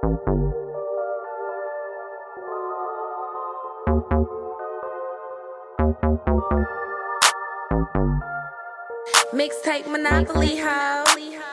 Mixtape Monopoly ho.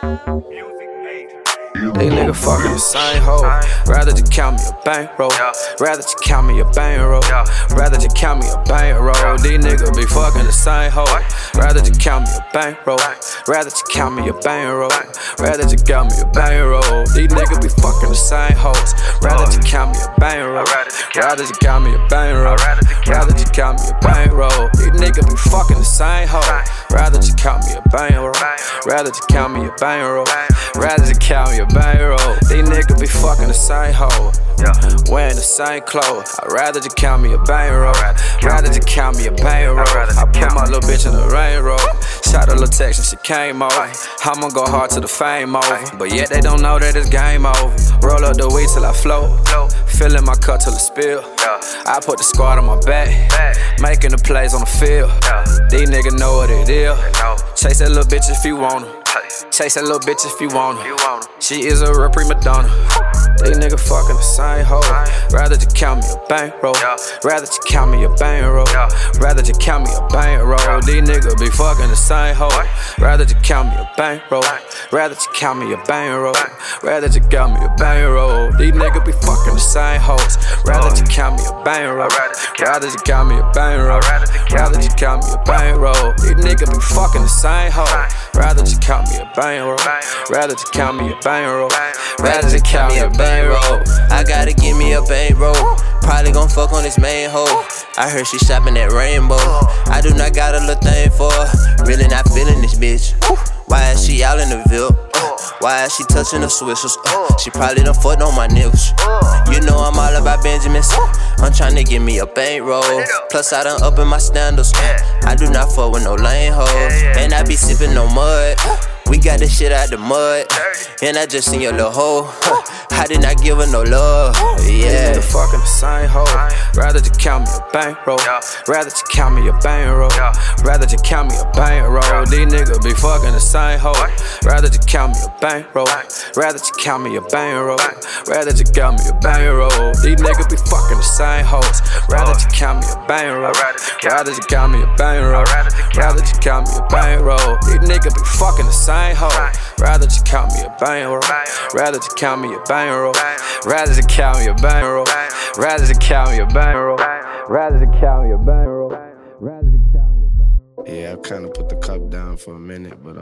They nigga fucking the same hoe. Rather just count me a bankroll. Rather just count me a bankroll. Rather just count me a bankroll. These niggas be fucking the same hoe. Rather just count me a bankroll. Rather just count me a bankroll. Rather just count me a bankroll. These niggas be fucking the same hoes. Rather just count me a bankroll. Rather just count me a bankroll. Rather just count me a bankroll. These niggas be fucking the same hoe. Rather just count me a bankroll. Rather just count me a bankroll. Rather just count me a bankroll. These niggas be fucking the same hoe. Wearing the same clothes. I'd rather just count me a bankroll. Rather just count me a bankroll. I put my little bitch in the rainroll. Shot a little text and she came over. I'ma go hard till the fame over. But yet they don't know that it's game over. Roll up the weed till I float. Filling my cup till it spill. I put the squad on my back. Making the plays on the field. These niggas know what it is. Chase that little bitch if you want her. Chase that little bitch if you want her. She is a real prima donna. These niggas fucking the same hoe. Rather just count me a bankroll. Rather just count me a bankroll. Rather just count me a bankroll. These niggas be fucking the same hoe. Rather just count me a bankroll. Rather just count me a bankroll. Rather just count me a bankroll. These niggas be fucking the same hoes. Rather just count me a bankroll. Rather just count me a bankroll. Rather just count me a bankroll. These niggas be fucking the same hoe. Rather just count me a bankroll. Rather just count me a bankroll. Rather just count me a bankroll. I gotta give me a bankroll. Probably gon' fuck on this main hoe. I heard she shopping at Rainbow. I do not got a little thing for her. Really not feeling this bitch. Why is she out in the Ville? Why is she touching the swishers? She probably done fucked on my niggas. You know I'm all about Benjamins. I'm tryna give me a bankroll. Plus I done up in my standards. I do not fuck with no lame hoes. And I be sipping no mud. We got this shit out the mud. And I just seen your little hoe. I did not give her no love. Yeah. Nigga fucking the same hoe. Rather just count me a bankroll. Rather just count me a bankroll. Rather just count me a bankroll. These niggas be fucking the same hoe. Rather just count me a bankroll. Rather just count me a bankroll. Rather just count me a bankroll. These niggas be fucking the same hoes. Rather just count me a bankroll. Rather just count me a bankroll. Rather just count me a bankroll. These niggas be fucking the same hoe. Rather just count me a bankroll. Rather just count me a bankroll. Rather just count me a bankroll. Rather just count me a bankroll. Rather just count me a bankroll. Rather just count me a bankroll. Yeah, I kinda put the cup down for a minute, but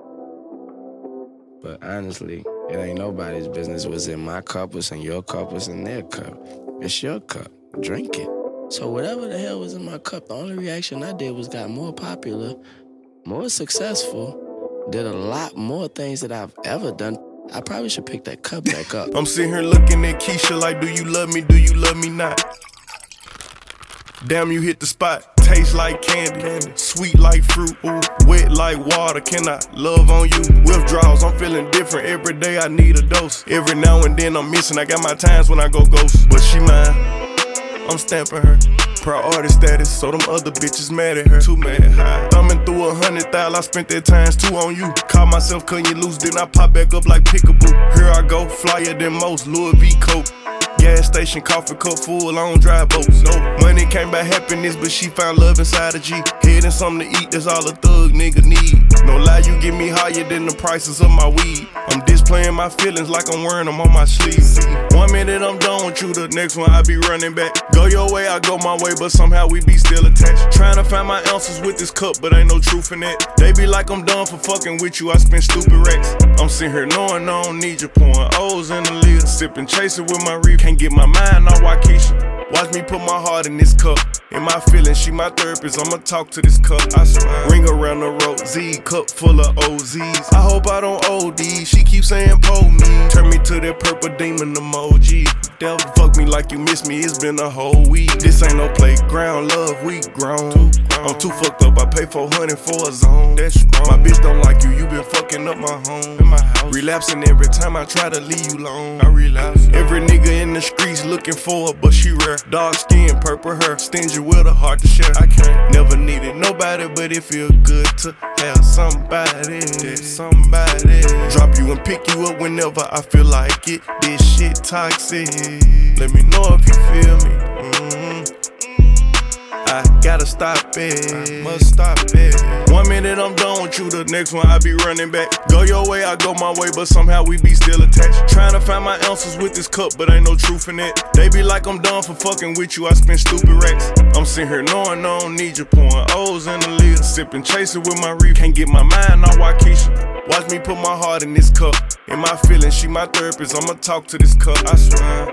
honestly, it ain't nobody's business. What's in my cup, what's in your cup, what's in their cup. It's your cup. Drink it. So whatever the hell was in my cup, the only reaction I did was got more popular, more successful, did a lot more things that I've ever done. I probably should pick that cup back up. I'm sitting here looking at Keisha like, do you love me, do you love me not? Damn, you hit the spot. Taste like candy, sweet like fruit, ooh, wet like water. Can I love on you? Withdrawals, I'm feeling different. Every day I need a dose. Every now and then I'm missing. I got my times when I go ghost. But she mine, I'm stamping her. Priority status, so them other bitches mad at her. Too mad, high. Thumbing through 100,000, I spent that times 2 on you. Caught myself cutting you loose, then I pop back up like Pickaboo. Here I go, flyer than most, Louis V. Coke. Gas station, coffee cup full, I don't drive boats. No money came by happiness, but she found love inside a G. Head and something to eat, that's all a thug nigga need. No lie, you get me higher than the prices of my weed. I'm displaying my feelings like I'm wearing them on my sleeve. 1 minute I'm done with you, the next one I be running back. Go your way, I go my way, but somehow we be still attached. Trying to find my answers with this cup, but ain't no truth in that. They be like I'm done for fucking with you, I spend stupid racks. I'm sitting here knowing I don't need you, pouring O's in the lid. Sipping, chasing with my reef. Can't get my mind on Waukesha. Watch me put my heart in this cup. In my feelings, she my therapist, I'ma talk to this cup. I swear. Ring around the road, Z, cup full of OZs. I hope I don't OD, she keeps saying pull me. Turn me to that purple demon emoji. Devil fuck me like you miss me, it's been a whole week. This ain't no playground, love, we grown. I'm too fucked up, I pay 400 for a zone. That's strong. My bitch don't like you, you been fucking up my home. In my house. Relapsing every time I try to leave you alone. I relapse. Every nigga in the streets looking for her, but she rare. Dark skin, purple hair, stingy with a heart to share. I can't, never needed nobody, but it feel good to have some. somebody. Drop you and pick you up whenever I feel like it. This shit toxic. Let me know if you feel me. I gotta stop it. I must stop it. 1 minute I'm done with you, the next one I be running back. Go your way, I go my way, but somehow we be still attached. Trying to find my answers with this cup, but ain't no truth in it. They be like I'm done for fucking with you, I spend stupid racks. I'm sitting here knowing I don't need you, pouring O's in the lid. Sipping, chasing with my reef, can't get my mind on Waukesha. Watch me put my heart in this cup. In my feelings, she my therapist, I'ma talk to this cup, I swear.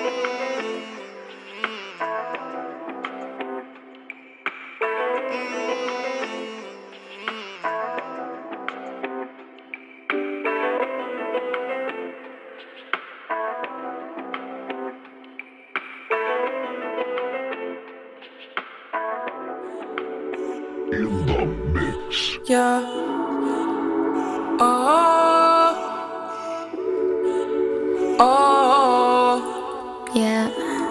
Yeah. Oh. Yeah.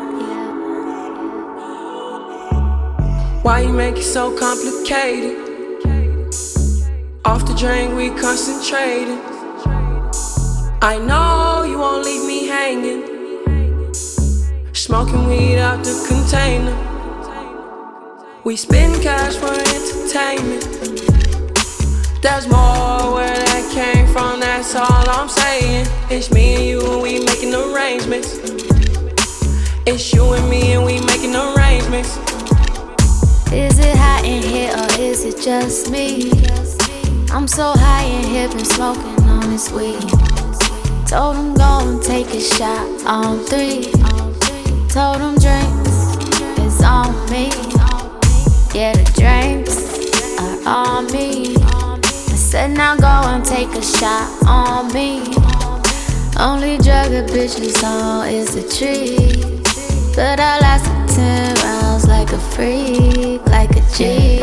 Why you make it so complicated? Off the drain, we concentrating. I know you won't leave me hanging. Smoking weed out the container. We spend cash for entertainment. There's more where that came from, that's all I'm saying. It's me and you and we making arrangements. It's you and me and we making arrangements. Is it hot in here or is it just me? I'm so high in here, been smoking on this weed. Told him go and take a shot on 3. Told him drinks is on me. Yeah, the drinks are on me. I said now go and take a shot on me. Only drug a bitch is on is the tree. But I lasted 10 rounds like a freak, like a G.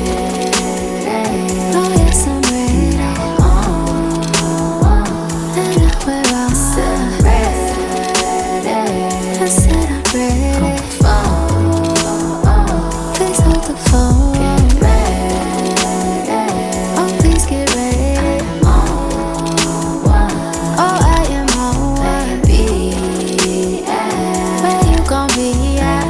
Oh yes, I'm ready. And I wear all I said I'm ready. Please hold the phone. Oh, please get ready. Oh, I am on one. Where you gon' be at?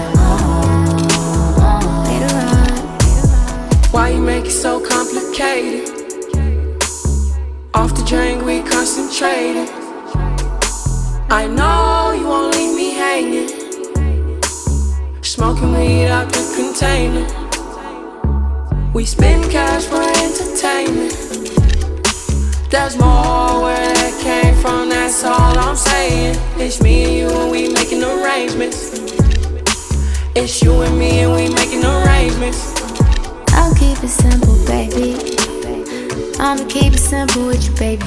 Later on. Why you make it so complicated? Off the drain, we concentrating. I know you won't leave me hanging. Smoking weed out the container. We spend cash for entertainment. There's more where that came from, that's all I'm saying. It's me and you and we making arrangements. It's you and me and we making arrangements. I'll keep it simple, baby. I'ma keep it simple with you, baby.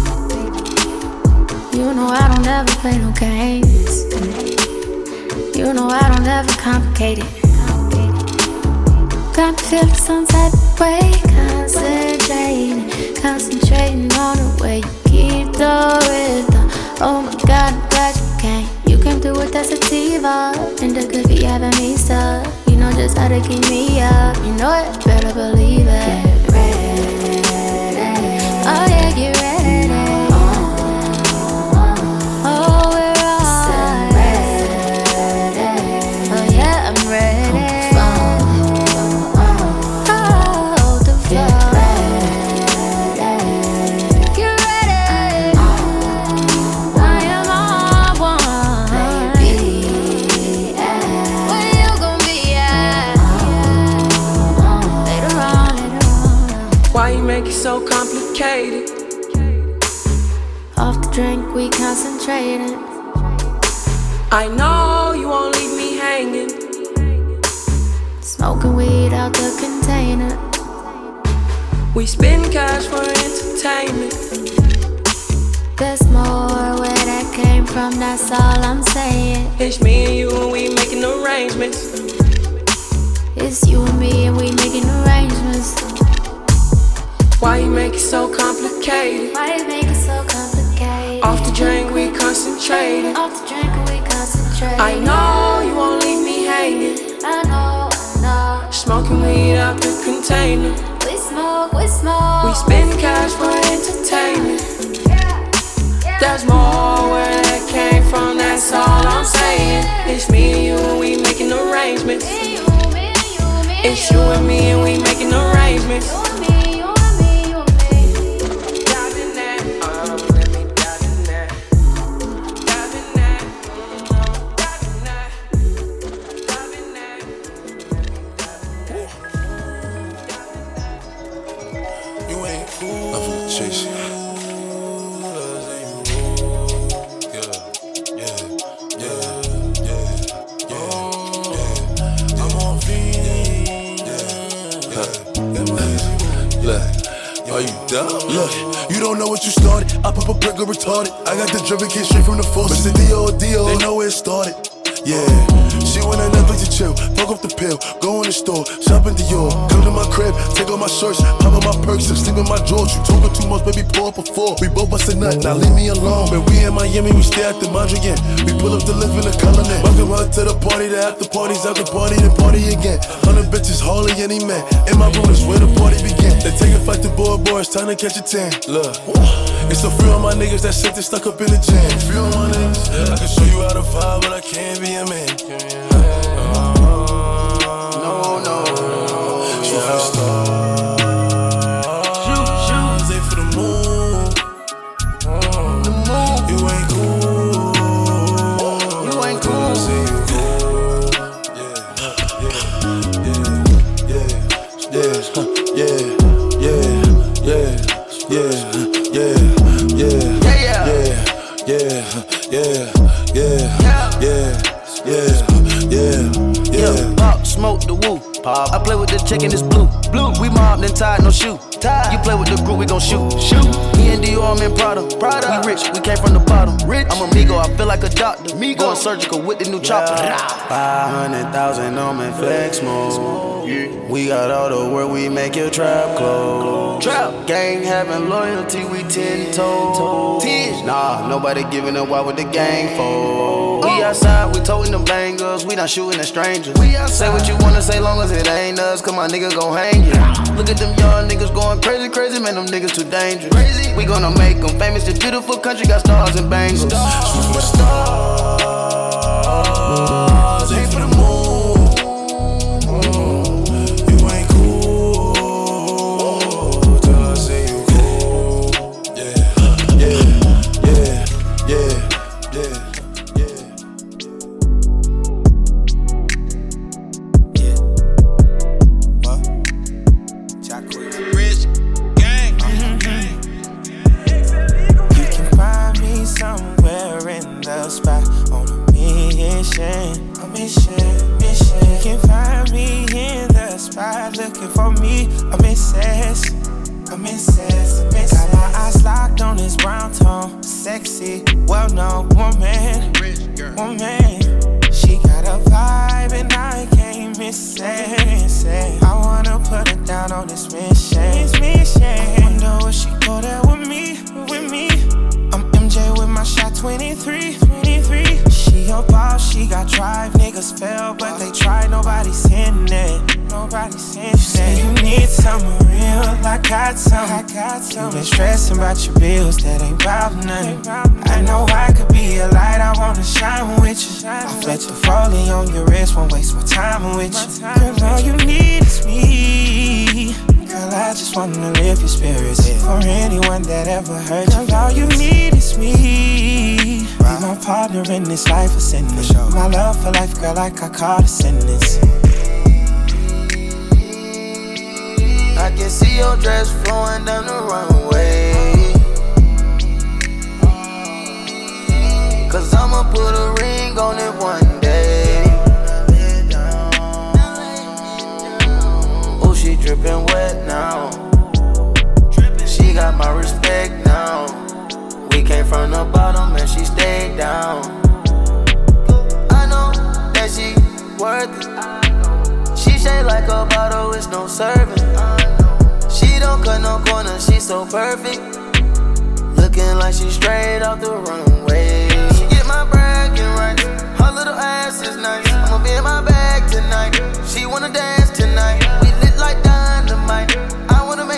You know I don't ever play no games. You know I don't ever complicate it. Got me feeling some type of way. Concentrating on the way you keep the rhythm. Oh my God, I'm glad you came. You came through with that sativa. And the could be having me stuck. You know just how to keep me up. You know it, better believe it. Get ready. Oh yeah, get ready. Oh, we're all ready. Oh yeah, I'm ready. Oh, the floor. Get ready. I am on one. Where you gon' be at? Later on. Why you make it so complicated? Off the drink, we concentrating. I know you won't leave me hanging. Smoking weed out the container. We spend cash for entertainment. There's more where that came from, that's all I'm saying. It's me and you and we making arrangements. It's you and me and we making arrangements. Why you make it so complicated? Why you make it so complicated? Off the drink, we concentrating. Off the drink and we concentrate. I know you won't leave me hanging. I know. Smoking weed out the container. We We spend cash for entertainment. There's more where that came from, that's all I'm saying. It's me and you and we making arrangements. It's you and me and we making arrangements. Look, you don't know what you started. I pop a brick or retarded. I got the driven kid straight from the force. It's a D.O. They know where it started. Yeah, she went on Netflix to chill, fuck up the pill, go in the store, shop in Dior, come to my crib, take off my shirts, pop up my perks, and sleep in my drawers. You talking too much, baby, pour up a four. We both bust a nut, now leave me alone. But we in Miami, we stay at the Mondrian. We pull up to live in the Cullinan. Welcome her to the party, the after parties, after party, then party again. 100 bitches, hardly any man. In my room is where the party began. They take a fight to boy, it's time to catch a 10. Look, it's a few of my niggas that shit they stuck up in the gym. Few of my niggas, I can show you how to vibe, but I can't be a man. No. Shoot for the stars. Shoot. Aim for the moon. The moon. You ain't cool. You ain't cool. Say you cool. Yeah. Pop, smoke the woo. Pop. I play with the chicken, it's blue. We mobbed and tied, no shoe. You play with the group, we gon' shoot. Me and Dior, I'm in Prada. We rich, we came from the bottom. I'm a Migo, I feel like a doctor. Going surgical with the new chopper. 500,000 on me flex mode. We got all the work, we make your trap close. Trap gang having loyalty, we 10 toes. Nah, nobody giving up, why would the gang fold? We outside, we toting them bangers, we not shooting at strangers. Say what you wanna say, long as it ain't us, cause my nigga gon' hang you. Look at them young niggas going crazy, man, them niggas too dangerous. We gonna make them famous, this beautiful country got stars and bangles. Shoot for the stars, aim for the moon. You ain't cool, till I say you cool. Rich gang. You can find me somewhere in the spot on a mission. You can find me in the spot looking for me. I'm incensed. Got my eyes locked on this brown tone, sexy, well-known woman. She got a vibe and I can't miss it. I wanna put her down on this mission. I wonder will she go there with me? I'm MJ with my shot 23. She a boss, she got drive. Niggas fail, but they try. Nobody's hitting it. You say you need someone real, I got some. You been stressing about your bills, that ain't about nothing. I know I could be a light, I wanna shine with you. I flex the foley on your wrist, won't waste my time with you. Girl, all you need is me. Girl, I just wanna lift your spirits for anyone that ever hurt you. Girl, all you need is me. Be my partner in this life of sentence. My love for life, girl, like I call a sentence. I can see your dress flowing down the runway. Cause I'ma put a ring on it one day. Oh, she drippin' wet now. She got my respect now. We came from the bottom and she stayed down. I know that she worth it. She shaped like a bottle, it's no serving. She don't cut no corners, she so perfect. Looking like she straight off the runway. She get my bragging right, her little ass is nice. I'ma be in my bag tonight, she wanna dance tonight. We lit like dynamite, I wanna make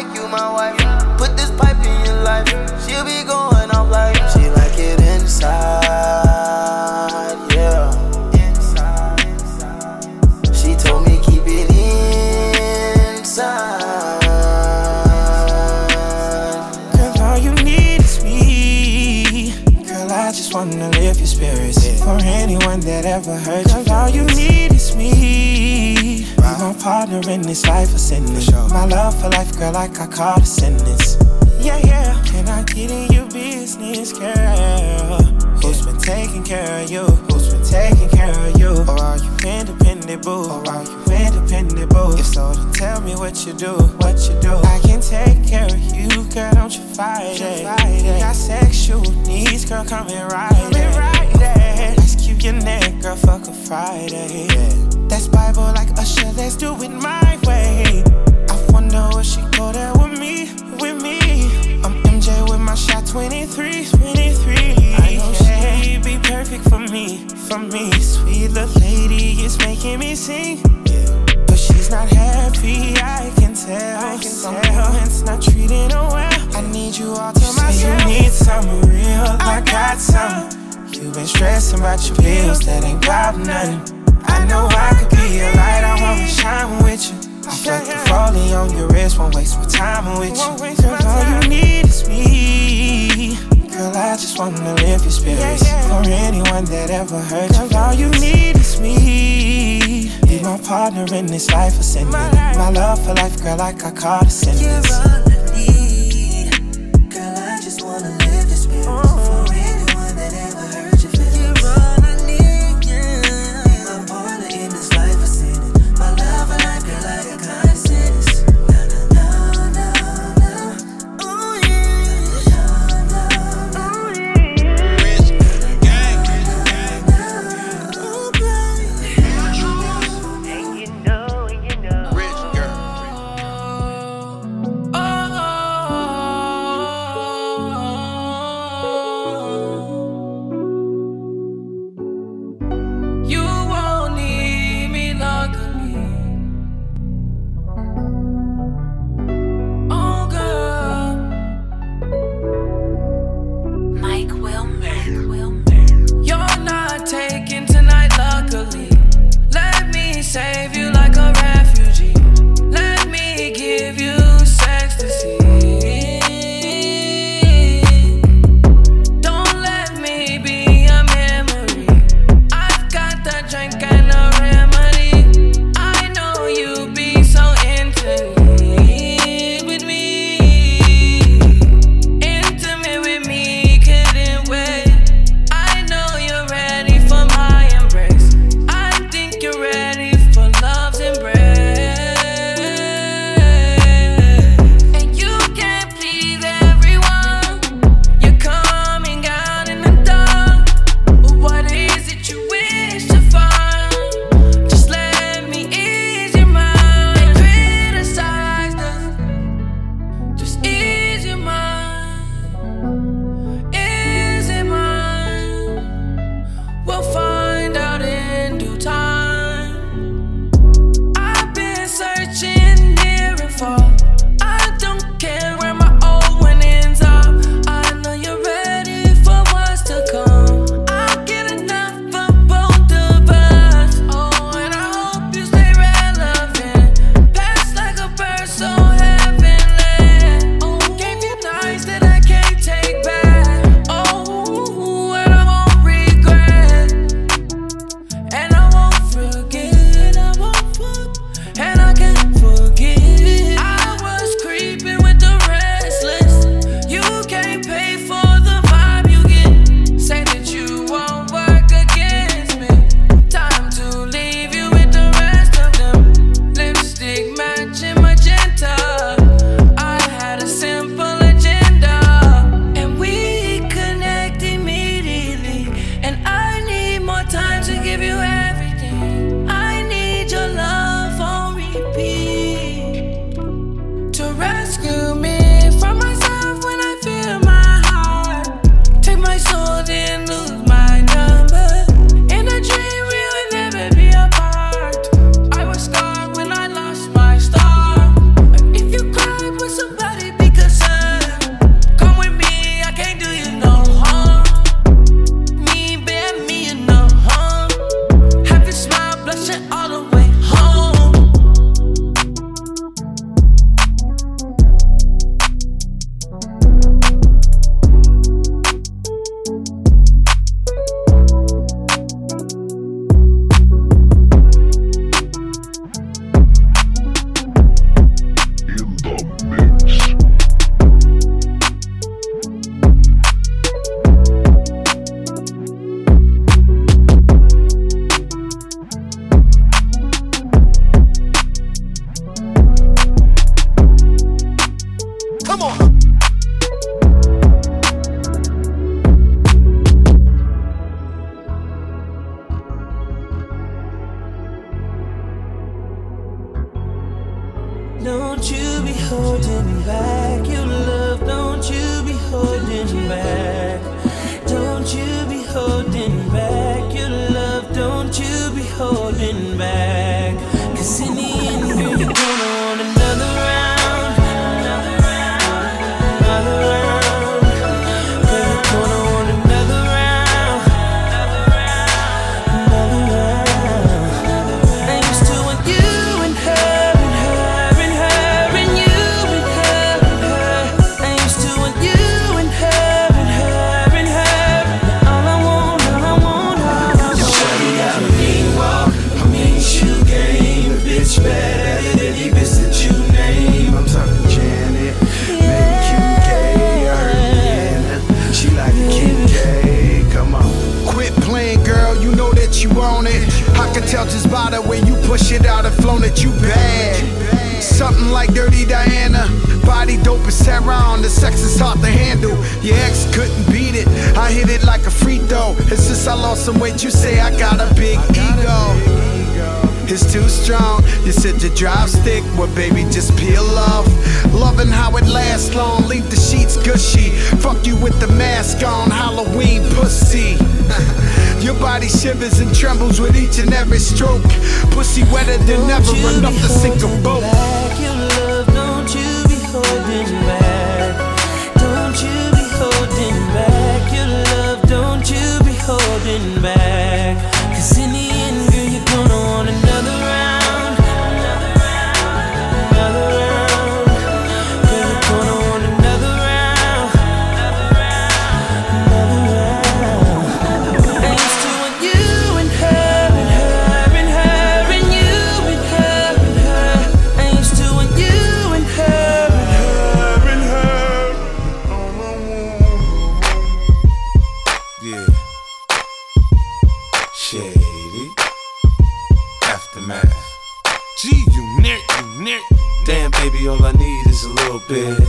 wanna lift your spirits. For anyone that ever hurt you, 'cause all you need is me. Be my partner in this life of sinning. My love for life, girl, like I call a sentence. Yeah, yeah. Can I get in your business, girl? Who's been taking care of you? Who's been taking care of you? Or are you independent, boo? Or are you independent, boo? If so, then tell me what you do, what you do. I can take care of you, girl, don't you fight it. Got sexual needs, girl, come and ride it. Ice cube your neck, girl, fuck a Friday. That's Bible like Usher, let's do it my way. I wonder if she go there with me, with me. I'm MJ with my shot 23. I know she'd be perfect for me, for me. Sweet little lady is making me sing, but she's not happy, I can tell. Someone's not treating her well. I need you all to myself. Say you need something real, I got some. You been stressing about your bills, that ain't about nothing. I know I could be a light, I wanna shine with you. I felt the falling on your wrist, won't waste my time with you. Girl, all you need is me. Girl, I just wanna lift your spirits. For anyone that ever hurt you, all you need is me. Be my partner in this life of sinning. My love for life, girl, like I call a sentence. You're all I need. Girl, I just wanna lift your spirits. For anyone that ever hurt your feelings. You're all I need, yeah. Be my partner in this life of sinning. My love for life, girl, like I call a sentence. be holding back your love? Don't you be holding back? Don't you be holding back your love? Don't you be holding back? 'Cause in the end, girl, you're gonna want another round, another round, another round. Girl, you're gonna want another round, another round, another round. I used to want you and her and her and her and you and her and her. I used to want you and her and her and her. Now all I want, all I want, all I want. Shawty got a mean walk, a mean shoe game. A bitch better than any bitch that you name. I'm talking Janet, maybe QK, I heard Rihanna. She like a Kim K, come on. Quit playing, girl, you know that you own it. I can tell just by the way you push it out and flown that you bad. Something like Dirty Diana, body dope as Sarah, the sex is hard to handle. Your ex couldn't beat it, I hit it like a free throw. And since I lost some weight, you say I got a big ego. It's too strong, you said your drive stick, well baby just peel off. Loving how it lasts long, leave the sheets gushy. Fuck you with the mask on, Halloween pussy. Your body shivers and trembles with each and every stroke. Pussy wetter than ever, enough to sink a boat. Your love, don't you be holding back. Don't you be holding back. Your love, don't you be holding back. 'Cause in the end, girl, you're gonna want another round, another round, another round. Girl, you're gonna want another round, another round, another round. I used to want you and her and her and her and you and her and her. I used to want you and her and her and her. Yeah. Shady. Aftermath. G unit. Damn, baby, all I need is a little bit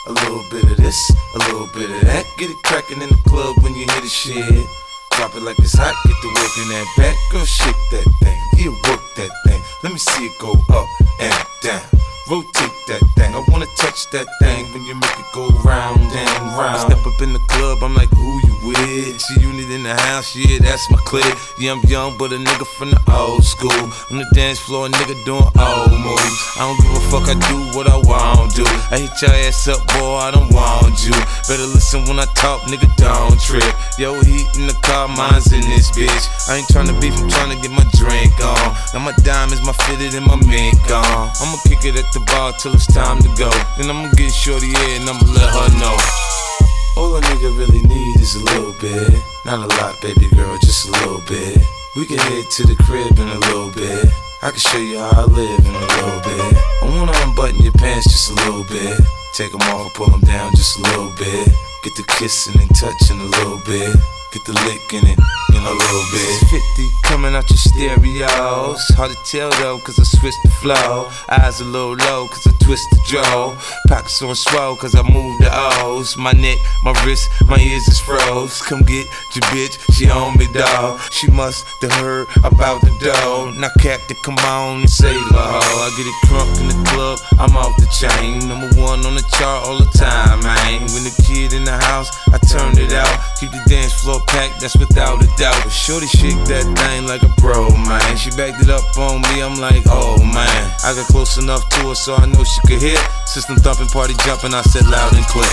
of this, a little bit of that. Get it crackin' in the club when you hear the shit. Drop it like it's hot, get the work in that back. Girl, shake that thing, yeah, work that thing. Let me see it go up and down. Rotate that thing, I wanna touch that thing when you make it go round and round. I step up in the club, I'm like, who you with? She unit in the house, yeah, that's my clique. Yeah, I'm young, but a nigga from the old school. On the dance floor, a nigga doing old moves. I don't give a fuck, I do what I want to. I hit your ass up, boy, I don't want you. Better listen when I talk, nigga, don't trip. Yo, heat in the car, mine's in this bitch. I ain't tryna beef, I'm tryna get my drink on. Now my diamonds, my fitted, and my mink on. I'ma kick it at the bar till it's time to go. Then I'ma get shorty here and I'ma let her know. All a nigga really need is a little bit. Not a lot, baby girl, just a little bit. We can head to the crib in a little bit. I can show you how I live in a little bit. I wanna unbutton your pants just a little bit. Take them off and pull them down just a little bit. Get the kissing and touching a little bit. Get the lick in it in a little bit. 50 coming out your stereos. Hard to tell though, cause I switched the flow. Eyes a little low, cause I twist the jaw. Pockets on swole, cause I move the O's. My neck, my wrist, my ears is froze. Come get your bitch, she on me, dawg. She must have heard about the dough. Now Captain, come on and save her hoe. I get it crunk in the club, I'm off the chain. Number one on the chart all the time, man. When the kid in the house, I turned it out. Keep the dance floor packed, that's without a doubt. But shorty shake that thing like a pro, man. She backed it up on me, I'm like, oh man. I got close enough to her so I know she could hear. System thumping, party jumping, I said loud and clear.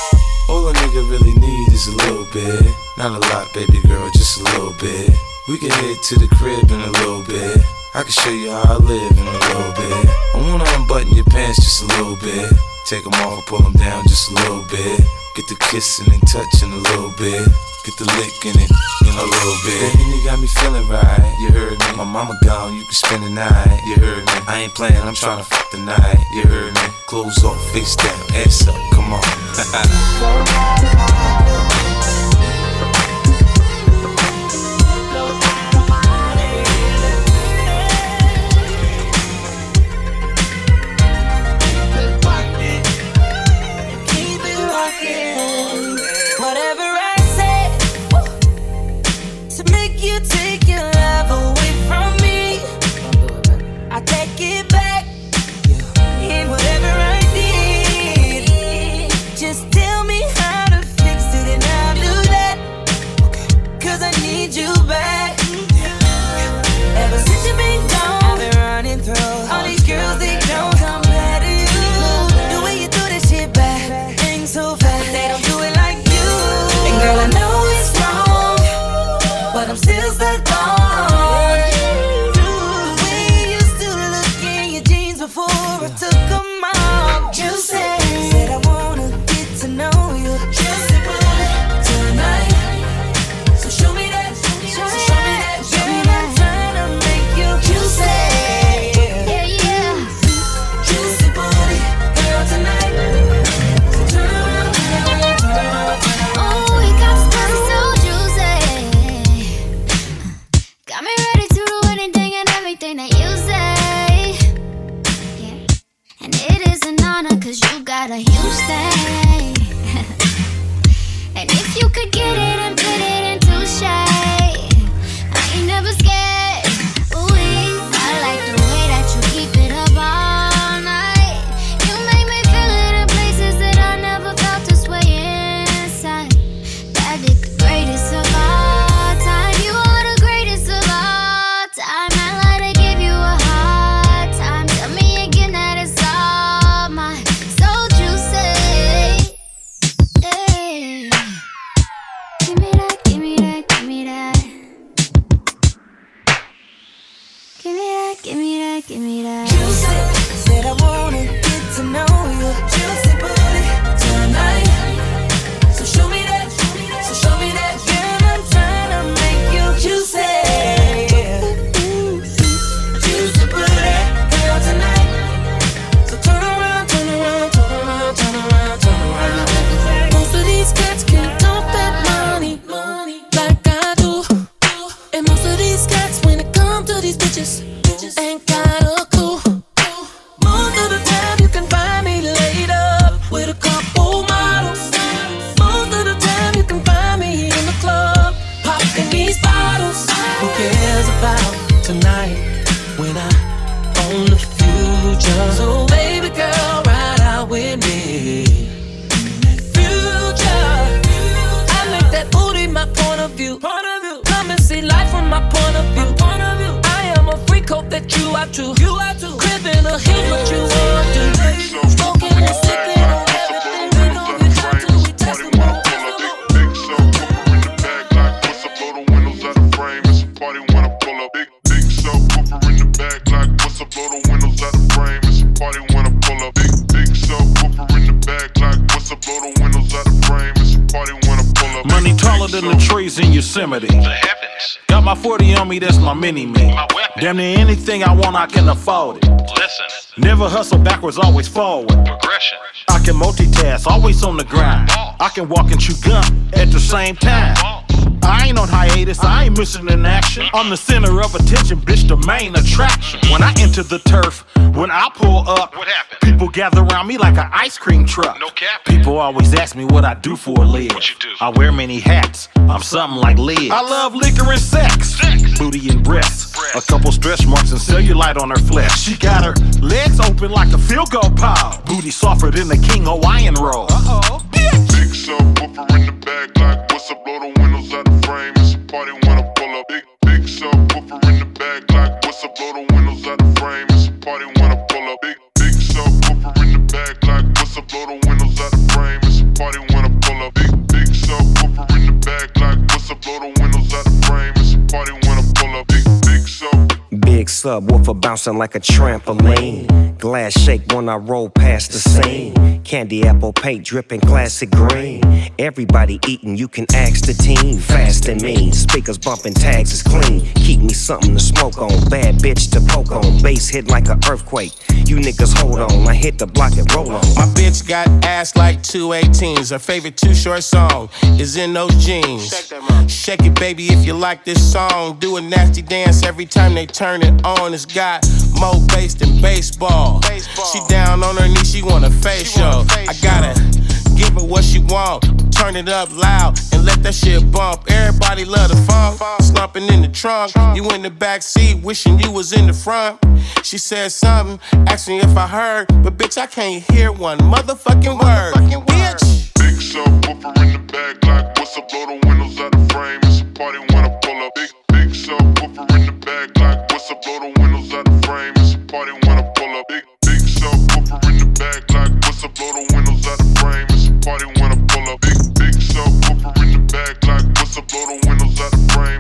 All a nigga really need is a little bit. Not a lot, baby girl, just a little bit. We can head to the crib in a little bit. I can show you how I live in a little bit. I wanna unbutton your pants just a little bit. Take them off, pull them down just a little bit. Get the kissing and touching a little bit. Get the lick in it in a little bit. Baby, you got me feeling right, you heard me. My mama gone, you can spend the night, you heard me. I ain't playing, I'm tryna fuck the night, you heard me. Clothes off, face down, ass up, come on. Whatever I I'm still stuck on you. The way you used to look in your jeans before I took them off. You said I wanna get to know you. Juicy booty tonight. So show me that, show me that. Girl, I'm trying to make you juicy. Yeah, yeah. Juicy booty, girl, tonight. So turn around, turn around, turn around, turn around. Oh, you got this pussy so juicy. Got me ready to do anything and everything that you say. Yeah. And it is an honor, cause you got a huge thing. And if you could get it and put it into shape, I ain't never scared. Ooh, I like the way that you keep it up all night. You make me feel it in places that I never felt this way inside. That is the greatest of all time. You are the greatest of all time. I like to give you a hard time. Tell me again that it's all mine. So juicy. Hey. Give me that, give me that, give me that. Give me that, give me that, give me that. Juicy, said I wanna get to know you. Juicy booty tonight. So show me that, so show me that. Girl, I'm trying to make you juicy. Juicy booty, girl, tonight. So turn around, turn around, turn around, turn around, turn around. Most of these cats can't dump that money like I do. And most of these cats, when it comes to these bitches, ain't got a clue. Most of the time you can find me laid up with a couple models. Most of the time you can find me in the club popping these bottles. Who cares about tonight when I own the future? So baby girl, ride out with me. Future, I make that booty my point of view. Come and see life from my point of view. I am a freak, hope that you are too. Cribbing a hit, what you want to. Smoking and sipping on everything. We know you have to. We testing on Big so pooper in the bag like what's up? Blow the windows out the frame. It's a party when I pull up. Big so pooper in the bag like what's up? Blow the windows out the frame. It's a party when I pull up. Big so pooper in the bag like what's up? Blow the windows out the frame. It's a party when I pull up. Money taller than the trees in Yosemite. The heavens. Got my 40 on me, that's my mini-me. My weapon. Damn near anything I want, I can afford it. Listen. Never hustle backwards, always forward. Progression. I can multitask, always on the grind. I can walk and chew gum at the same time. I ain't on hiatus, I ain't missing in action. I'm the center of attention, bitch, the main attraction. When I enter the turf, when I pull up, What happened? people gather around me like an ice cream truck. No cap. People always ask me what I do for a live. What you do? I wear many hats, I'm something like Liz. I love liquor and sex, booty and breasts. A couple stretch marks and cellulite on her flesh. She got her legs open like a field goal pile. Booty softer than the King Hawaiian roll. Big so pooper in the bag like what's up? Blow the windows out the frame. It's a party when I pull up. Big so pooper in the bag like what's up? Blow the windows out the frame. It's a party when I pull up. Big so pooper in the bag like what's up? Blow the windows out the frame. It's a party when I pull up. Big so pooper in the bag like what's up? Blow the windows out the frame. It's a party when I pull up. Big so. Big subwoofer bouncing like a trampoline. Glass shake when I roll past the scene. Candy apple paint dripping classic green. Everybody eating, you can ask the team. Fast and mean, speakers bumping, tags is clean. Keep me something to smoke on, bad bitch to poke on. Bass hit like an earthquake. You niggas hold on, I hit the block and roll on. My bitch got ass like 218s. Her favorite Too Short song is In Those Jeans. Shake it, baby, if you like this song. Do a nasty dance every time they turn it on. It's got more bass than baseball. She down on her knees, she want a facial. I gotta give her what she want. Turn it up loud and let that shit bump. Everybody love the funk. Slumping in the trunk. You in the back seat, wishing you was in the front. She said something, asked me if I heard, but bitch, I can't hear one motherfucking word. Bitch. Big so pooper in the bag like what's up? Blow the windows out the frame. It's a party when I pull up. Big so pooper in the bag like what's up? Blow the windows out the frame. It's a party when I pull up. Big so pooper in the bag like what's up? Blow the windows out the frame. It's a party when I pull up. Big so pooper in the bag like what's up? Blow the windows out the frame. It's a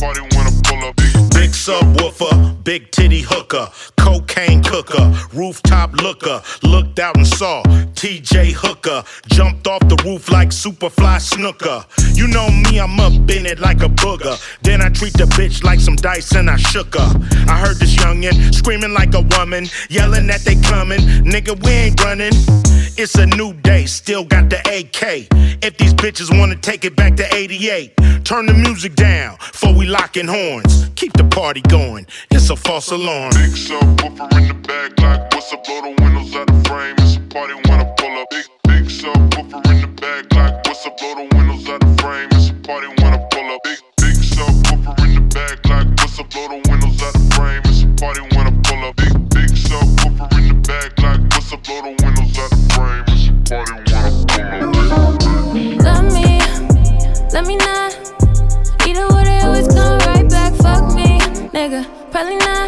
party when I pull up. Big subwoofer, big titty hooker, cocaine cooker, rooftop looker, looked out and saw TJ Hooker, jumped off the roof like Superfly Snooker. You know me, I'm up in it like a booger. Then I treat the bitch like some dice and I shook her. I heard this youngin' screaming like a woman, yelling that they coming. Nigga, we ain't running. It's a new day, still got the AK. If these bitches wanna take it back to 88, turn the music down before we lockin' horns. Keep the party going, it's a false alarm. Big subwoofer in the back, like what's up, blow the windows out the frame. It's a party when I pull up. Big subwoofer in the back, like what's up, blow the windows out the frame. It's a party when I pull up. Big subwoofer in the back, like what's up, blow the windows out the frame. It's a party when I pull up. Big subwoofer in the back, like what's up, blow the windows out the frame. It's a party when I pull up. Let me not. Either way, they always come right back. Fuck me, nigga, probably not.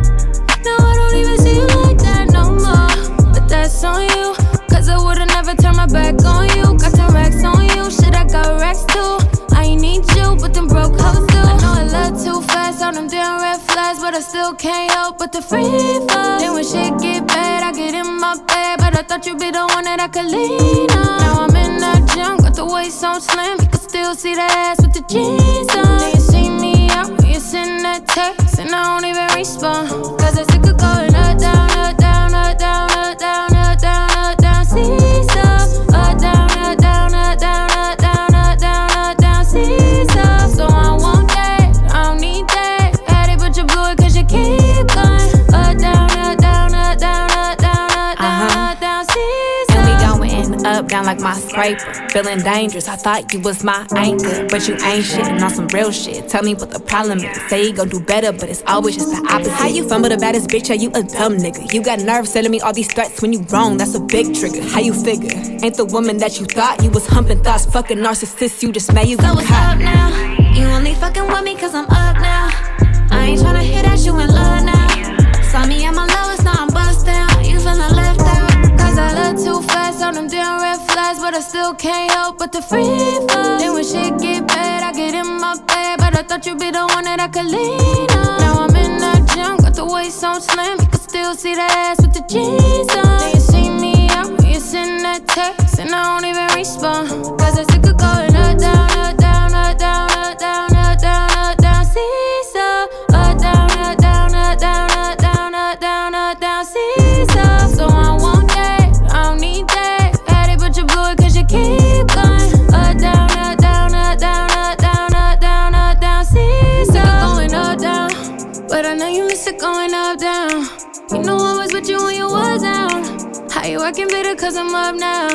No, I don't even see you like that no more. But that's on you, cause I would've never turned my back on you. Got some racks on you, shit, I got racks too. I ain't need you, but them broke hoes do. I know I love too fast on them damn red flags, but I still can't help but the free fall. Then when shit get bad, I get in my bed, but I thought you'd be the one that I could lean on. Now I'm in that gym, got the waist on slim, you can still see the ass with the jeans on. Then you see me out when you send that text, and I don't even respond, cause I sick of going up, down, up, down, up, down, up, down, up, down, up, down, see-saw, up, down, up, down, up, down, up, down, up, down, up, down, see-saw. So I want that, I don't need that. Had it, but you blew it cause you keep going. Up, down, up, down, up, down, up, down, up, down, up, down, see-saw. And we going up, down like my scraper. Feeling dangerous, I thought you was my anchor, but you ain't shit, and on some real shit. Tell me what the problem is. Say you gon' do better, but it's always just the opposite. How you fumble the baddest bitch? Are you a dumb nigga? You got nerves telling me all these threats when you wrong. That's a big trigger. How you figure? Ain't the woman that you thought. You was humping thoughts, fucking narcissist. You just made you so what's up now? You only fucking with me cause I'm up now. I ain't tryna hear that you in love now. Saw me at my lowest, now I'm bust down. You feelin' left out. Cause I look too fast on them damn red flags, but I still can't help but the free fall. Then when shit get bad, I get in my bed, but I thought you'd be the one that I could lean on. Now I'm in that gym, got the waist on slim, you can still see the ass with the jeans on. Then you see me out when you send that text, and I don't even respond, cause I sick of going up, down, up, down, up, down, up, down, up, down, up, down, see-saw, up, down, up, down, up, down, up, down, up, down, up, down, see-saw. So I want that, I don't need that. Had it, but you blew it cause you keep going. Up, down, up, down, up, down, up, down, up, down, up, down, see-saw. Going up, down, but I know you miss it going up, down. You know I was with you when you was down. How you working better cause I'm up now?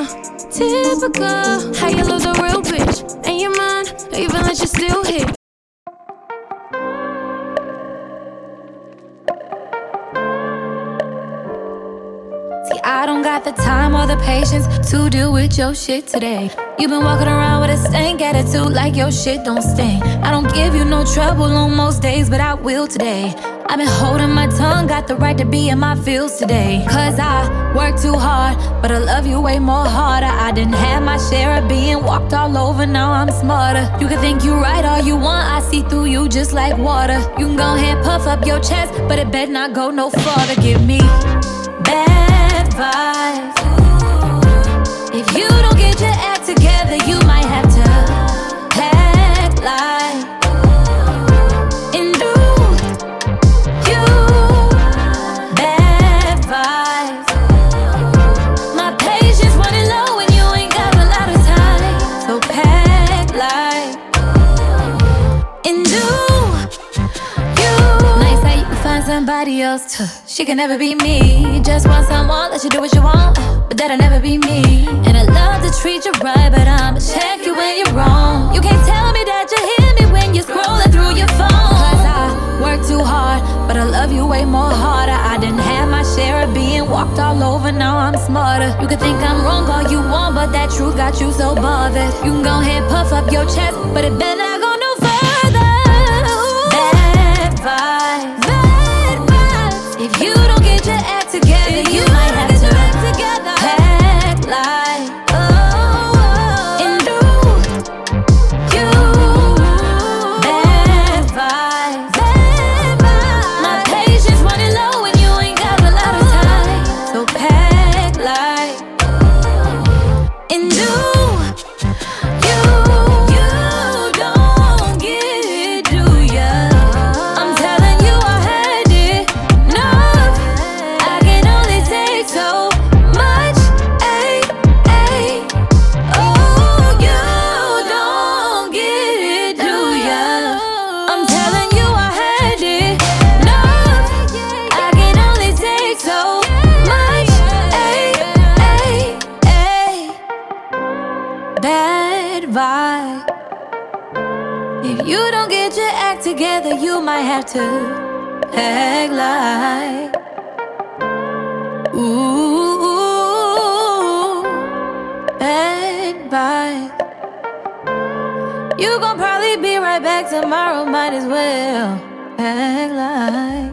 Typical, how you lose a real bitch and your mind, even let you still hit. See, I don't got the time or the patience to deal with your shit today. You been walking around with a stank attitude like your shit don't stink. I don't give you no trouble on most days, but I will today. I've been holding my tongue, got the right to be in my feels today. Cause I work too hard, but I love you way more harder. I didn't have my share of being walked all over, now I'm smarter. You can think you right all you want, I see through you just like water. You can go ahead, puff up your chest, but it better not go no farther. Give me bad vibes. If you don't get your act together, you might have to pack like and do you bad vibes. My patience running low and you ain't got a lot of time, so pack like and do you. Nice how you can find somebody else to. She can never be me. Just want someone, let you do what you want, but that'll never be me. And I love to treat you right, but I'ma check you when you're wrong. You can't tell me that you hear me when you're scrolling through your phone. Cause I work too hard, but I love you way more harder. I didn't have my share of being walked all over, now I'm smarter. You can think I'm wrong all you want, but that truth got you so bothered. You can go ahead, puff up your chest, but it better not go no further. Bad vibes. If you don't get your act together, you might have to pack like and do you bad vibes. together, you might have to act like. Ooh, advice. You gon' probably be right back tomorrow, might as well act like.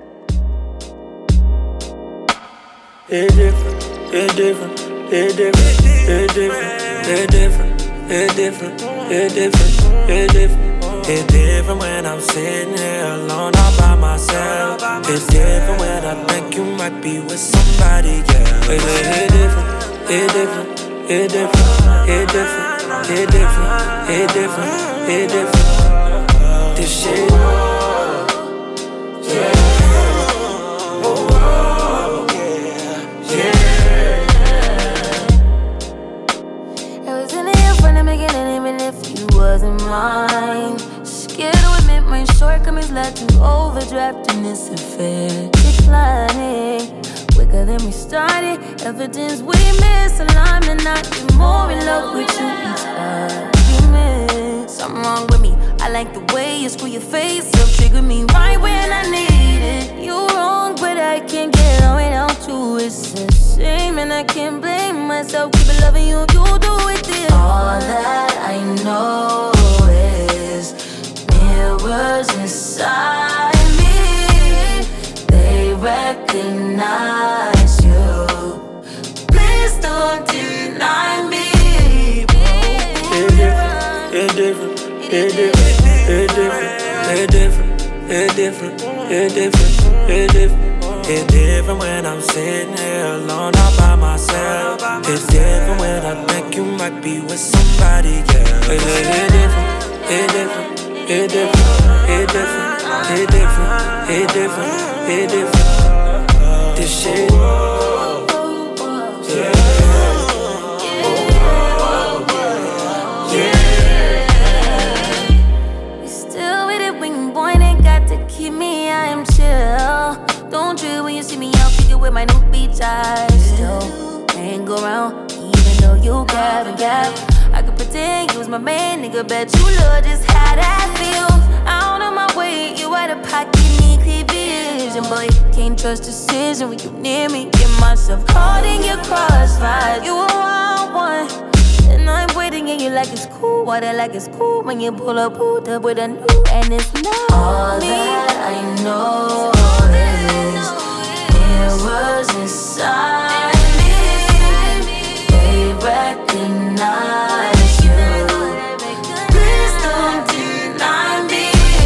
It's different, it's different, it's different, it's different, it's different, it's different, it's different, it's different. It's different when I'm sitting here alone all by myself. It's different when I think you might be with somebody, yeah. It's different, it's different, it's different, it's different, it's different, it's different, it's different. This shit, yeah. Wasn't mine. Scared to admit my shortcomings led to overdraft in this affair. Declining quicker than we started. Evidence we misalignment, not be more in love with you each argument. Something wrong with me. I like the way you screw your face up, trigger me right when I need it. You wrong, but I can't get on without you. It's a shame and I can't blame myself. Keep it loving you, you do it this. All that I know is mirrors inside me. They recognize you. Please don't deny me. It's different, it's different, it's different, it's different, it's different, it's different, it's different, it's different. It's different when I'm sitting here alone all by myself. It's different when I think you might be with somebody, yeah. It's different, it's different, it's different, it's different, it's different, it's different, it's different. This shit, yeah. You still with it when you boy ain't got to keep me, I am chill. Don't trip when you see me out, figure with my new beach eyes. Still hang around, even though you gab and gab. I could pretend you was my main nigga, bet you love just how that feels. Out of my way, you out of pocket, need clear vision. Boy, can't trust decision when you near me. Get myself caught in your crossfire. You a wild one, and I'm waiting and you like it's cool. Water like it's cool when you pull up, pulled up with a new, and it's not all me. That I know is mirrors inside me. They recognize you. Please don't deny me.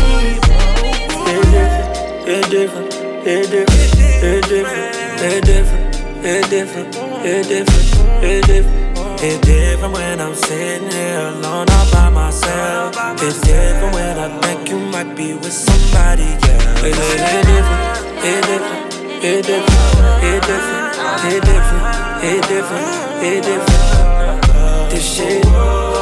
It's different, it's different, it's different, it's different, it's different, it's different, it's different. It's different when I'm sitting here alone all by myself. It's different when I think you might be with somebody, yeah. It's different, it's different, it's different, it's different, it's different, it's different, it's different. This shit.